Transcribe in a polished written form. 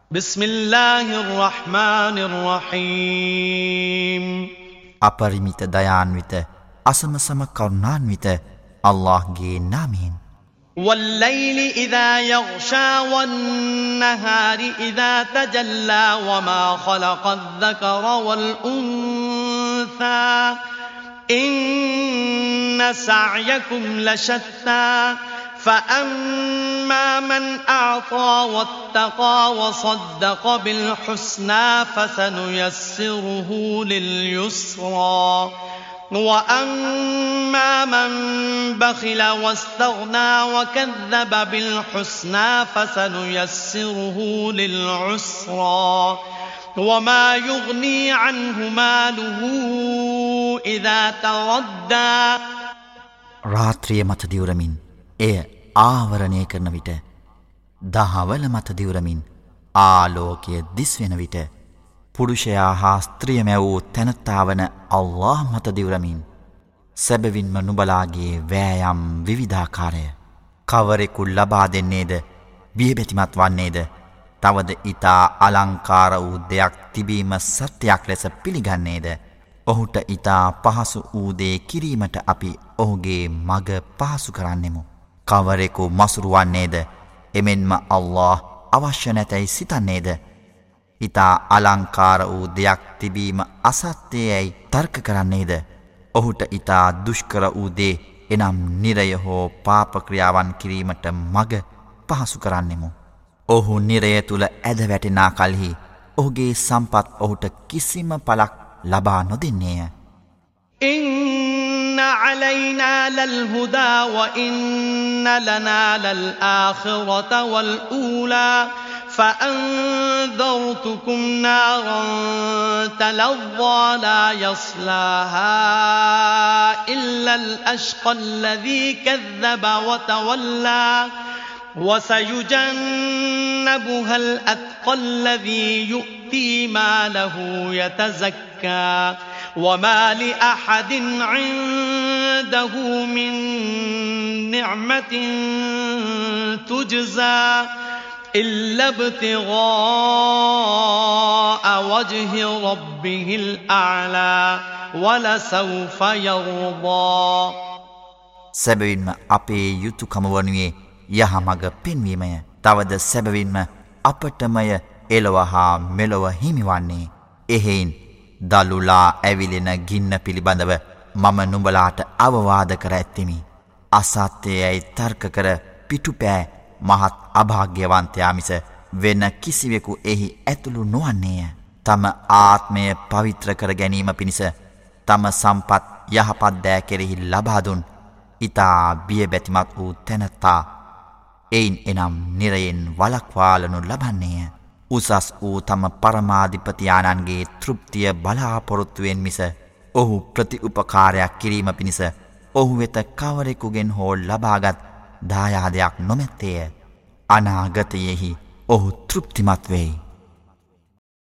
بسم الله الرحمن الرحيم අපරිමිත දයාන්විත අසමසම කරුණාන්විත අල්ලාහ්ගේ නාමයෙන් والليل إذا يغشى والنهار إذا تجلى وما خلق الذكر والأنثى إن سعيكم لشتى فأما من أعطى واتقى وصدق بالحسنى فسنيسره لليسرى وأما من بخل واستغنى وكذب بالحسنى فسنيسره للعسرى وما يغني عنه ماله إذا تردى රාත්‍රිය මත දිවුරමින් එය ආවරණය කරන විට දහවල මත දිවුරමින් ආලෝකය දිස්වෙන විට පුරුෂයා හා ස්ත්‍රිය මැවූ තැනැත්තා වන අල්ලාහ් මත දිවුරමින් සැබවින්ම නුබලාගේ වෑයම් විවිධාකාරය කවරෙකු ලබා දෙන්නේද බියබැතිමත් වන්නේද තවද ඊතා අලංකාර වූ දෙයක් තිබීම සත්‍යයක් ලෙස පිළිගන්නේද ඔහුට ඊතා පහසු වූ දේ කිරීමට අපි ඔහුගේ මග පහසු කරන්නෙමු කවරෙකු මසුරු වන්නේද එමෙන්ම අල්ලාහ් අවශ්‍ය නැතැයි සිතන්නේද ඊතා අලංකාර වූ දෙයක් තිබීම අසත්‍යයයි තර්ක කරන්නේද ඔහුට ඊතා දුෂ්කර වූ දේ එනම් නිරය හෝ පාප ක්‍රියාවන් කිරීමට මග පහසු කරන්නෙමු ඔහු නිරය තුල ඇද වැටෙනා කලෙහි ඔහුගේ සම්පත් ඔහුට කිසිම පළක් ලබා නොදෙන්නේය إن علينا للهدى وإن لنا للآخرة والأولى فأنذرتكم نارا تلظى لا يصلاها إلا الأشقى الذي كذب وتولى وسيجنبها الأتقى الذي يؤتي ماله يتزكى وما لأحد عنده من نعمة تجزى إلا ابتغاء وجه ربه الأعلى ولسوف يرضى සැබවින්ම අපේ යුතුයකම වනුයේ යහමඟ පෙන්වීමය. තවද සැබවින්ම අපටමය එලොව හා මෙලොව හිමිවන්නේ. එහෙයින් දලුලා ඇවිලෙන ගින්න පිළිබඳව මම නුඹලාට අවවාද කර ඇත්තෙමි. අසත්‍යයයි තර්ක කර පිටුපෑ මහත් අභාග්‍යවන්තයා මිස වෙන කිසිවෙකු එහි ඇතුළු නොවන්නේය. තම ආත්මය පවිත්‍ර කර ගැනීම පිණිස තම සම්පත් යහපත් දෑ කෙරෙහි ලබා දුන් ඊතා බියබැතිමත් වූ තැනැත්තා එයින් එනම් නිරයෙන් වළක්වාලනු ලබන්නේය. උසස් වූ තම පරමාධිපතියාණන්ගේ තෘප්තිය බලාපොරොත්තුවෙන් මිස ඔහු ප්‍රතිඋපකාරයක් කිරීම පිණිස ඔහු වෙත කවරෙකුගෙන් හෝ ලබාගත් දායාදයක් නොමැත්තේය. අනාගතයෙහි ඔහු තෘප්තිමත් වෙයි.